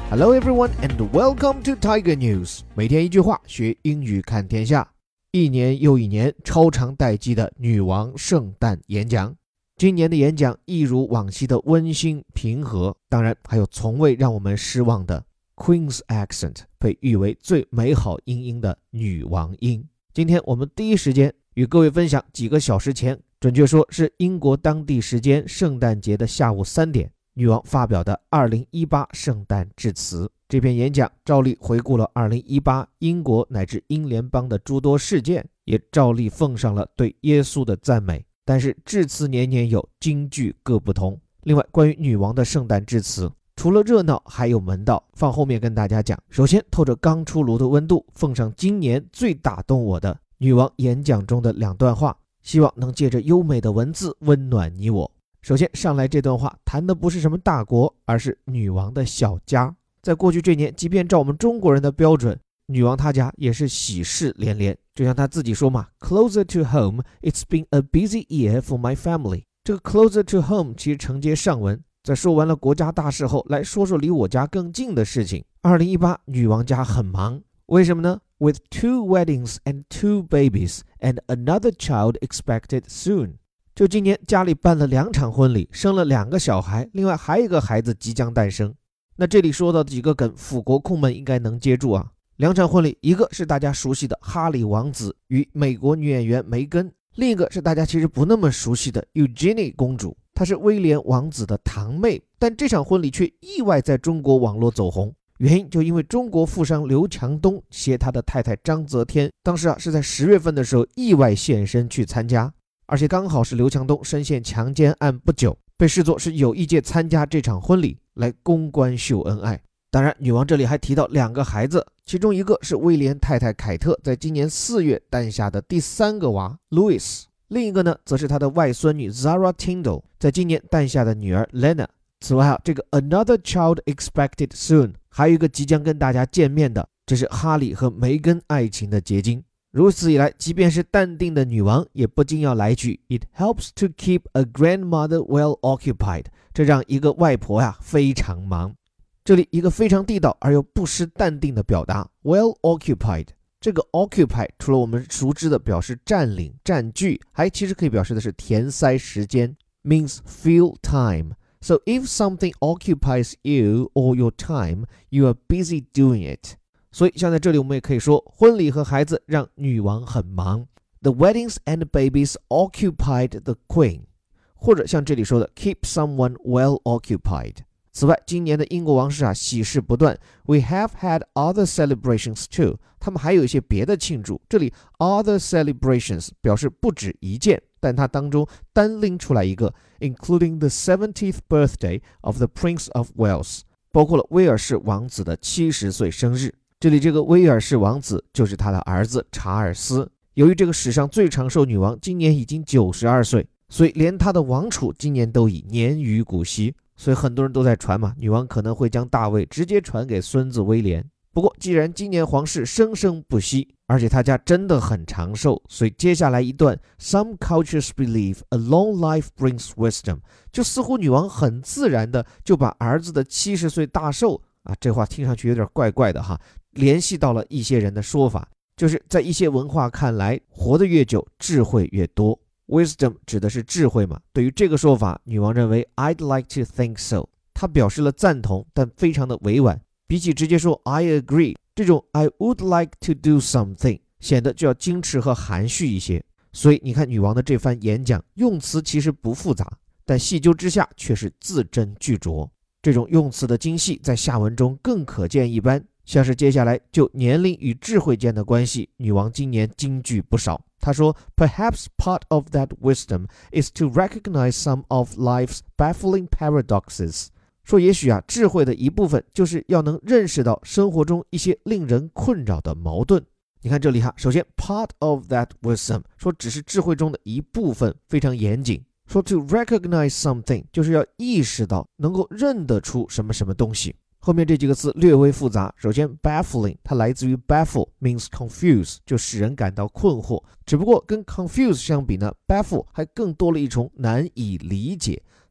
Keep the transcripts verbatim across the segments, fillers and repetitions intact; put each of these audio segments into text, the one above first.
Hello everyone and welcome to Tiger News。 每天一句话，学英语看天下。一年又一年超长待机的女王圣诞演讲，今年的演讲一如往昔的温馨平和，当然还有从未让我们失望的 Queen's Accent， 被誉为最美好音音的女王音。今天我们第一时间与各位分享几个小时前，准确说是英国当地时间圣诞节的下午三点，女王发表的二零一八圣诞致辞。这篇演讲照例回顾了二零一八英国乃至英联邦的诸多事件，也照例奉上了对耶稣的赞美。但是致辞年年有，金句各不同。另外，关于女王的圣诞致辞，除了热闹还有门道，放后面跟大家讲。首先，透着刚出炉的温度，奉上今年最打动我的女王演讲中的两段话，希望能借着优美的文字温暖你我。首先上来这段话谈的不是什么大国，而是女王的小家。在过去这年，即便照我们中国人的标准，女王她家也是喜事连连。就像她自己说嘛， Closer to home, it's been a busy year for my family。 这个 closer to home 其实承接上文，在说完了国家大事后，来说说离我家更近的事情。二零一八女王家很忙，为什么呢？ With two weddings and two babies and another child expected soon。就今年家里办了两场婚礼，生了两个小孩，另外还有一个孩子即将诞生。那这里说到的几个梗，辅国控们应该能接住啊。两场婚礼，一个是大家熟悉的哈里王子与美国女演员梅根，另一个是大家其实不那么熟悉的 Eugenie 公主，她是威廉王子的堂妹，但这场婚礼却意外在中国网络走红。原因就因为中国富商刘强东携他的太太章泽天，当时啊是在十月份的时候意外现身去参加，而且刚好是刘强东深陷强奸案不久，被视作是有意借参加这场婚礼来公关秀恩爱。当然女王这里还提到两个孩子，其中一个是威廉太太凯特在今年四月诞下的第三个娃 Louis， 另一个呢则是他的外孙女 Zara Tindall 在今年诞下的女儿 Lena。 此外啊，这个 another child expected soon 还有一个即将跟大家见面的，这是哈里和梅根爱情的结晶。如此以来，即便是淡定的女王也不禁要来句 It helps to keep a grandmother well occupied， 这让一个外婆呀非常忙。这里一个非常地道而又不失淡定的表达 well occupied。 这个 occupy 除了我们熟知的表示占领占据，还其实可以表示的是填塞时间， means fill time。 So if something occupies you or your time, you are busy doing it。所以像在这里我们也可以说，婚礼和孩子让女王很忙， The weddings and babies occupied the queen， 或者像这里说的 keep someone well occupied。 此外，今年的英国王室啊喜事不断， We have had other celebrations too， 他们还有一些别的庆祝。这里 other celebrations 表示不止一件，但它当中单拎出来一个 including the seventieth birthday of the Prince of Wales， 包括了威尔士王子的七十岁生日。这里这个威尔士王子就是他的儿子查尔斯。由于这个史上最长寿女王今年已经九十二岁，所以连他的王储今年都已年逾古稀，所以很多人都在传嘛，女王可能会将大位直接传给孙子威廉。不过既然今年皇室生生不息，而且他家真的很长寿，所以接下来一段 Some cultures believe a long life brings wisdom， 就似乎女王很自然的就把儿子的七十岁大寿啊，这话听上去有点怪怪的哈，联系到了一些人的说法，就是在一些文化看来，活得越久智慧越多。 Wisdom 指的是智慧嘛，对于这个说法，女王认为 I'd like to think so， 她表示了赞同，但非常的委婉，比起直接说 I agree， 这种 I would like to do something 显得就要矜持和含蓄一些。所以你看女王的这番演讲，用词其实不复杂，但细究之下却是字斟句酌，这种用词的精细在下文中更可见一斑。像是接下来就年龄与智慧间的关系，女王今年金句不少。她说 Perhaps part of that wisdom is to recognize some of life's baffling paradoxes， 说也许啊，智慧的一部分就是要能认识到生活中一些令人困扰的矛盾。你看这里哈，首先 part of that wisdom 说只是智慧中的一部分，非常严谨。说 to recognize something 就是要意识到，能够认得出什么什么东西。后面这几个字略微复杂，首先 baffling 它来自于 baffle means confuse， 就使人感到困惑，只不过跟 confuse 相比呢， baffle 还更多了一重难以理解，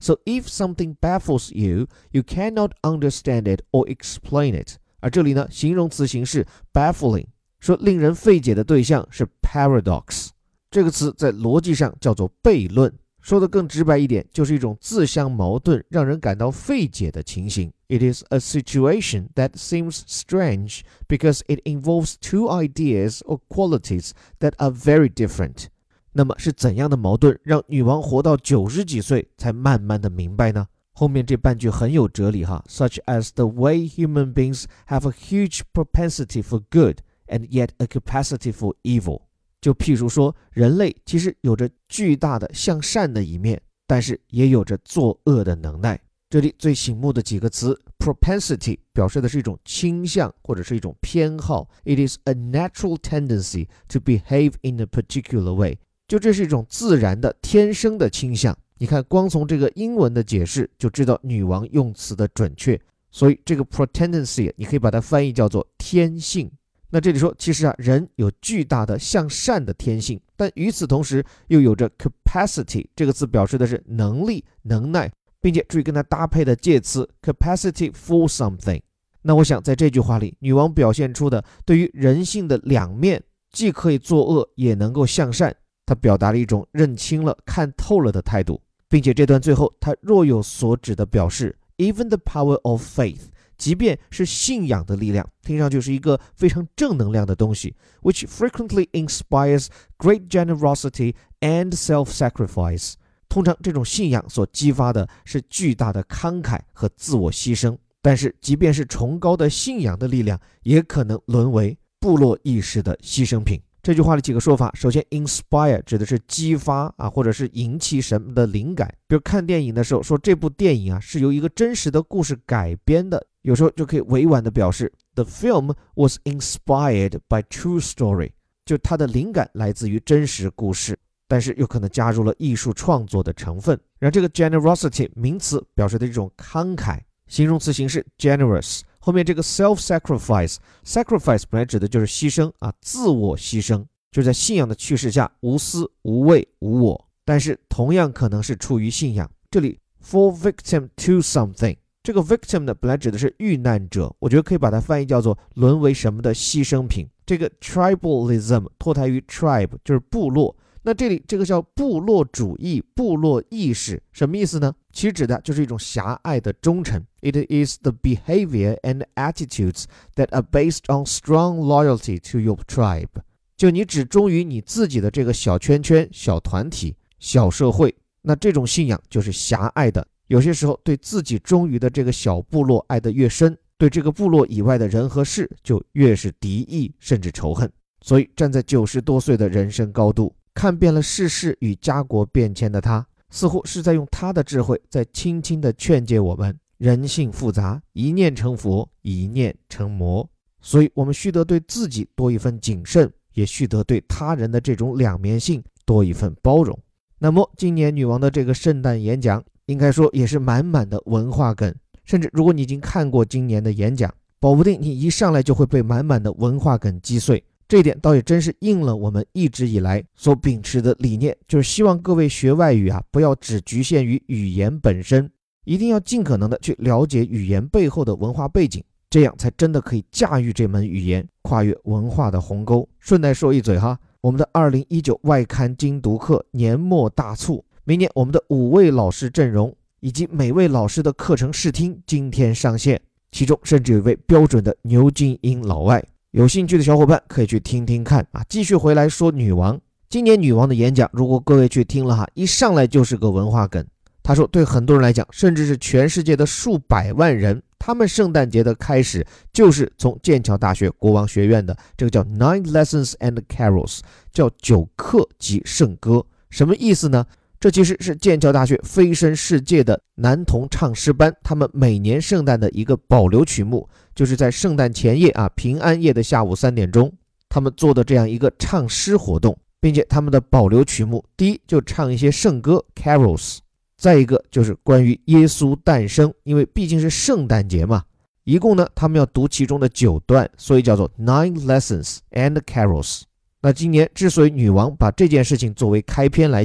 So if something baffles you, you cannot understand it or explain it. 而这里呢，形容词形式 baffling， 说令人费解的对象是 paradox。这个词在逻辑上叫做悖论，说的更直白一点，就是一种自相矛盾、让人感到费解的情形。It is a situation that seems strange because it involves two ideas or qualities that are very different. 那么是怎样的矛盾让女王活到九十几岁才慢慢的明白呢？后面这半句很有哲理哈 ，such as the way human beings have a huge propensity for good and yet a capacity for evil. 就譬如说，人类其实有着巨大的向善的一面，但是也有着作恶的能耐。这里最醒目的几个词 propensity 表示的是一种倾向或者是一种偏好 It is a natural tendency to behave in a particular way. 就这是一种自然的天生的倾向。你看光从这个英文的解释就知道女王用词的准确，所以这个 propensity 你可以把它翻译叫做天性。那这里说其实啊，人有巨大的向善的天性，但与此同时又有着 capacity 这个词表示的是能力能耐，并且注意跟它搭配的介词 capacity for something。 那我想在这句话里，女王表现出的对于人性的两面，既可以作恶也能够向善，她表达了一种认清了看透了的态度，并且这段最后她若有所指的表示 even the power of faith，即便是信仰的力量，听上去是一个非常正能量的东西 which frequently inspires great generosity and self-sacrifice。 通常这种信仰所激发的是巨大的慷慨和自我牺牲，但是即便是崇高的信仰的力量，也可能沦为部落意识的牺牲品。这句话的几个说法，首先 inspire 指的是激发啊，或者是引起什么的灵感，比如看电影的时候说这部电影啊是由一个真实的故事改编的，有时候就可以委婉的表示 The film was inspired by true story， 就它的灵感来自于真实故事，但是又可能加入了艺术创作的成分。然后这个 generosity 名词表示的一种慷慨，形容词形式 generous， 后面这个 self-sacrifice sacrifice 本来指的就是牺牲啊，自我牺牲，就是在信仰的驱使下无私无畏无我，但是同样可能是出于信仰。这里 fall victim to something， 这个 victim 呢本来指的是遇难者，我觉得可以把它翻译叫做沦为什么的牺牲品。这个 tribalism 脱胎于 tribe 就是部落，那这里这个叫部落主义部落意识，什么意思呢？其实指的就是一种狭隘的忠诚。 It is the behavior and attitudes that are based on strong loyalty to your tribe， 就你只忠于你自己的这个小圈圈小团体小社会，那这种信仰就是狭隘的。有些时候对自己忠于的这个小部落爱得越深，对这个部落以外的人和事就越是敌意甚至仇恨。所以站在九十多岁的人生高度，看遍了世事与家国变迁的他，似乎是在用他的智慧在轻轻地劝诫我们，人性复杂，一念成佛，一念成魔，所以我们须得对自己多一份谨慎，也须得对他人的这种两面性多一份包容。那么今年女王的这个圣诞演讲，应该说也是满满的文化梗，甚至如果你已经看过今年的演讲，保不定你一上来就会被满满的文化梗击碎。这一点倒也真是应了我们一直以来所秉持的理念，就是希望各位学外语啊，不要只局限于语言本身，一定要尽可能的去了解语言背后的文化背景，这样才真的可以驾驭这门语言，跨越文化的鸿沟。顺带说一嘴哈，我们的二零一九外刊精读课年末大促，明年我们的五位老师阵容以及每位老师的课程试听今天上线，其中甚至有一位标准的牛津英老外，有兴趣的小伙伴可以去听听看啊。继续回来说女王，今年女王的演讲，如果各位去听了哈，一上来就是个文化梗。她说对很多人来讲，甚至是全世界的数百万人，他们圣诞节的开始就是从剑桥大学国王学院的这个叫 Nine Lessons and Carols， 叫九课及圣歌。什么意思呢？这其实是剑桥大学飞升世界的男童唱诗班，他们每年圣诞的一个保留曲目，就是在圣诞前夜啊，平安夜的下午三点钟，他们做的这样一个唱诗活动，并且他们的保留曲目，第一就唱一些圣歌 carols， 再一个就是关于耶稣诞生，因为毕竟是圣诞节嘛，一共呢他们要读其中的九段，所以叫做 Nine Lessons and Carols。 那今年之所以女王把这件事情作为开篇来讲，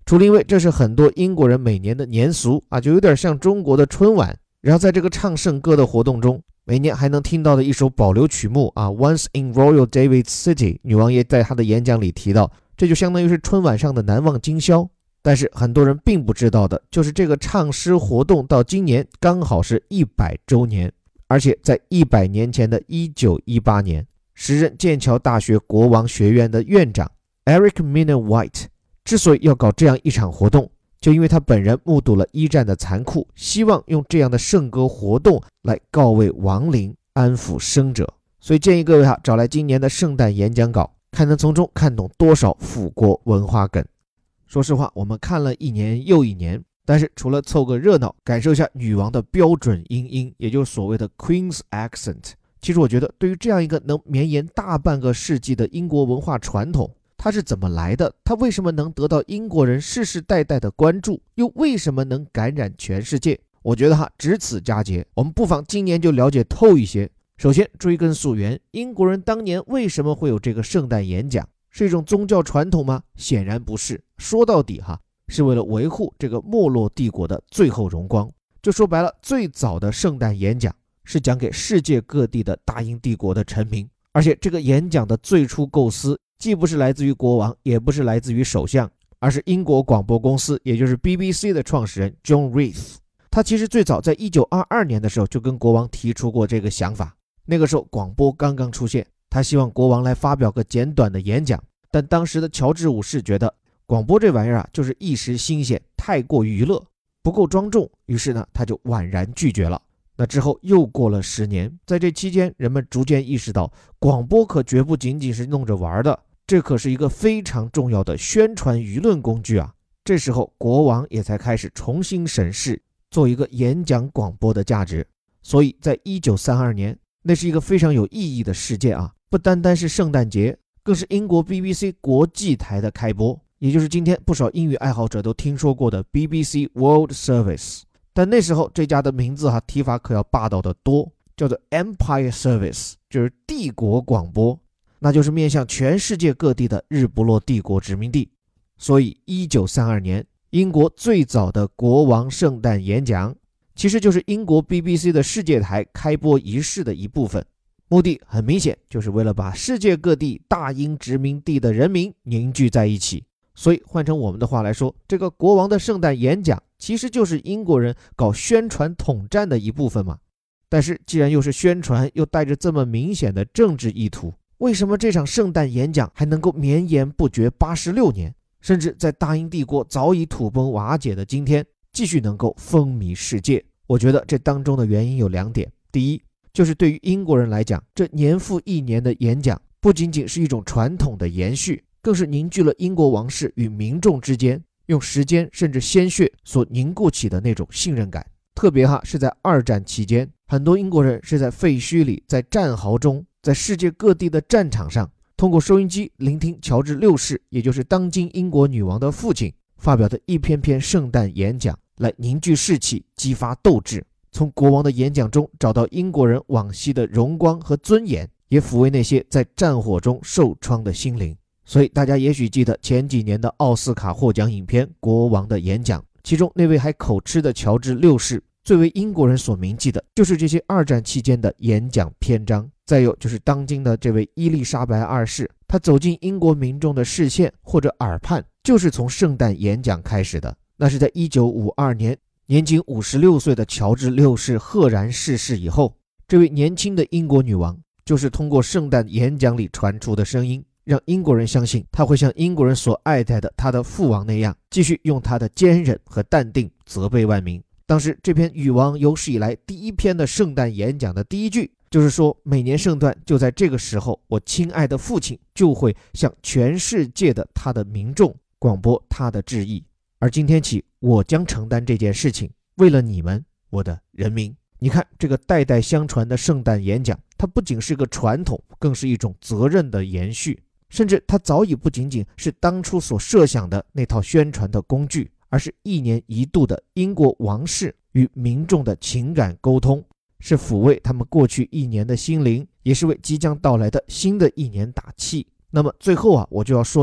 除了因为这是很多英国人每年的年俗啊，就有点像中国的春晚。然后在这个唱圣歌的活动中，每年还能听到的一首保留曲目啊 Once in Royal David City， 女王也在她的演讲里提到，这就相当于是春晚上的难忘今宵。但是很多人并不知道的就是这个唱诗活动到今年刚好是一百周年，而且在一百年前的一九一八年，时任剑桥大学国王学院的院长 Eric Miner White 之所以要搞这样一场活动，就因为他本人目睹了一战的残酷，希望用这样的圣歌活动来告慰亡灵，安抚生者。所以建议各位哈，找来今年的圣诞演讲稿，看能从中看懂多少腐国文化梗。说实话，我们看了一年又一年，但是除了凑个热闹，感受一下女王的标准英音，也就是所谓的 Queen's Accent， 其实我觉得对于这样一个能绵延大半个世纪的英国文化传统，它是怎么来的？它为什么能得到英国人世世代代的关注？又为什么能感染全世界？我觉得哈，只此佳节，我们不妨今年就了解透一些。首先追根溯源，英国人当年为什么会有这个圣诞演讲？是一种宗教传统吗？显然不是。说到底哈，是为了维护这个没落帝国的最后荣光。就说白了，最早的圣诞演讲是讲给世界各地的大英帝国的臣民，而且这个演讲的最初构思既不是来自于国王，也不是来自于首相，而是英国广播公司，也就是 B B C 的创始人 John Reith。 他其实最早在一九二二年的时候就跟国王提出过这个想法，那个时候广播刚刚出现，他希望国王来发表个简短的演讲，但当时的乔治五世觉得广播这玩意儿啊，就是一时新鲜，太过娱乐，不够庄重，于是呢他就婉然拒绝了。那之后又过了十年，在这期间人们逐渐意识到，广播可绝不仅仅是弄着玩的，这可是一个非常重要的宣传舆论工具啊！这时候国王也才开始重新审视做一个演讲广播的价值。所以在一九三二年，那是一个非常有意义的事件啊！不单单是圣诞节，更是英国 B B C 国际台的开播，也就是今天不少英语爱好者都听说过的 B B C World Service。 但那时候这家的名字哈、啊、提法可要霸道得多，叫做 Empire Service， 就是帝国广播，那就是面向全世界各地的日不落帝国殖民地。所以一九三二年英国最早的国王圣诞演讲其实就是英国 B B C 的世界台开播仪式的一部分，目的很明显，就是为了把世界各地大英殖民地的人民凝聚在一起。所以换成我们的话来说，这个国王的圣诞演讲其实就是英国人搞宣传统战的一部分嘛。但是既然又是宣传，又带着这么明显的政治意图，为什么这场圣诞演讲还能够绵延不绝八十六年，甚至在大英帝国早已土崩瓦解的今天继续能够风靡世界？我觉得这当中的原因有两点。第一，就是对于英国人来讲，这年复一年的演讲不仅仅是一种传统的延续，更是凝聚了英国王室与民众之间用时间甚至鲜血所凝固起的那种信任感。特别哈是在二战期间，很多英国人是在废墟里，在战壕中，在世界各地的战场上，通过收音机聆听乔治六世，也就是当今英国女王的父亲发表的一篇篇圣诞演讲，来凝聚士气，激发斗志。从国王的演讲中找到英国人往昔的荣光和尊严，也抚慰那些在战火中受创的心灵。所以大家也许记得前几年的奥斯卡获奖影片《国王的演讲》，其中那位还口吃的乔治六世，最为英国人所铭记的就是这些二战期间的演讲篇章。再有就是当今的这位伊丽莎白二世，她走进英国民众的视线或者耳畔，就是从圣诞演讲开始的。那是在一九五二年，年仅五十六岁的乔治六世赫然逝世以后，这位年轻的英国女王就是通过圣诞演讲里传出的声音，让英国人相信她会像英国人所爱戴的她的父王那样，继续用她的坚韧和淡定责备万民。当时这篇女王有史以来第一篇的圣诞演讲的第一句就是说，每年圣诞就在这个时候，我亲爱的父亲就会向全世界的他的民众广播他的致意，而今天起我将承担这件事情，为了你们，我的人民。你看这个代代相传的圣诞演讲，它不仅是个传统，更是一种责任的延续，甚至它早已不仅仅是当初所设想的那套宣传的工具，而是一年一度的英国王室与民众的情感沟通，是抚慰他们过去一年的心灵，也是为即将到来的新的一年打气。那么最后啊，我就要说到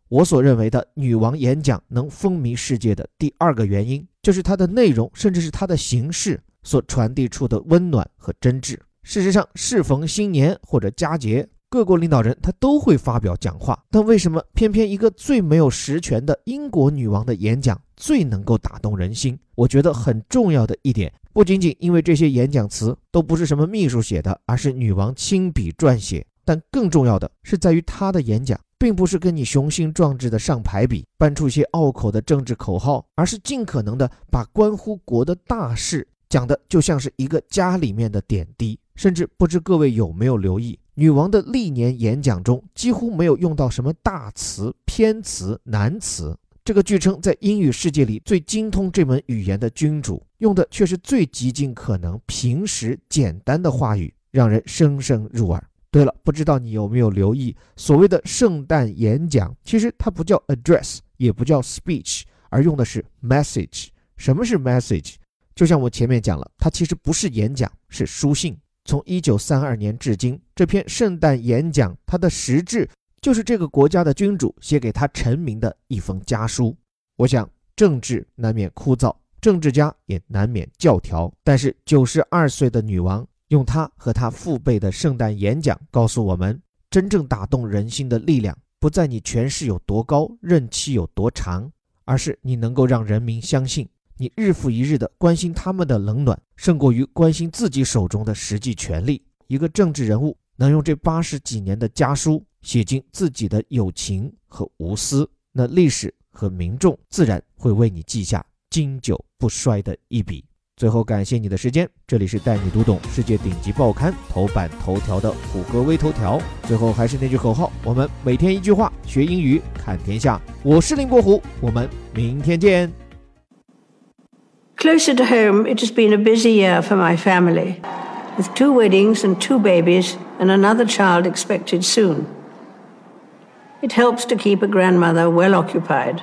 我所认为的女王演讲能风靡世界的第二个原因，就是它的内容甚至是它的形式所传递出的温暖和真挚。事实上，适逢新年或者佳节，各国领导人他都会发表讲话，但为什么偏偏一个最没有实权的英国女王的演讲最能够打动人心？我觉得很重要的一点，不仅仅因为这些演讲词都不是什么秘书写的，而是女王亲笔撰写，但更重要的是在于她的演讲并不是跟你雄心壮志的上排比，搬出一些拗口的政治口号，而是尽可能的把关乎国的大事讲的就像是一个家里面的点滴。甚至不知各位有没有留意，女王的历年演讲中几乎没有用到什么大词、偏词、难词，这个据称在英语世界里最精通这门语言的君主，用的却是最极尽可能平实简单的话语，让人深深入耳。对了，不知道你有没有留意，所谓的圣诞演讲其实它不叫 address 也不叫 speech， 而用的是 message。 什么是 message？ 就像我前面讲了，它其实不是演讲，是书信。从一九三二年至今，这篇圣诞演讲它的实质就是这个国家的君主写给他臣民的一封家书。我想政治难免枯燥，政治家也难免教条，但是九十二岁的女王用她和她父辈的圣诞演讲告诉我们，真正打动人心的力量不在你权势有多高，任期有多长，而是你能够让人民相信你日复一日的关心他们的冷暖，胜过于关心自己手中的实际权力。一个政治人物能用这八十几年的家书写进自己的友情和无私，那历史和民众自然会为你记下经久不衰的一笔。最后感谢你的时间，这里是带你读懂世界顶级报刊头版头条的虎哥微头条。最后还是那句口号，我们每天一句话，学英语看天下。我是林国虎，我们明天见。 Closer to home, it has been a busy year for my family, with two weddings and two babies and another child expected soon. It helps to keep a grandmother well occupied.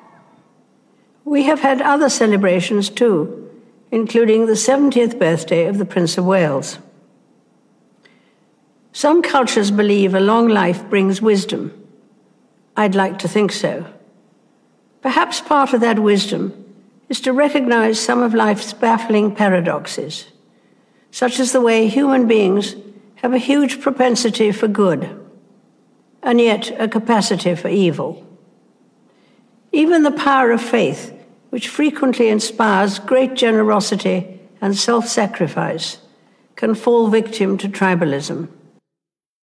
We have had other celebrations too, including the seventieth birthday of the Prince of Wales. Some cultures believe a long life brings wisdom. I'd like to think so. Perhaps part of that wisdom is to recognize some of life's baffling paradoxes, such as the way human beings have a huge propensity for good, and yet a capacity for evil. Even the power of faith, which frequently inspires great generosity and self-sacrifice, can fall victim to tribalism.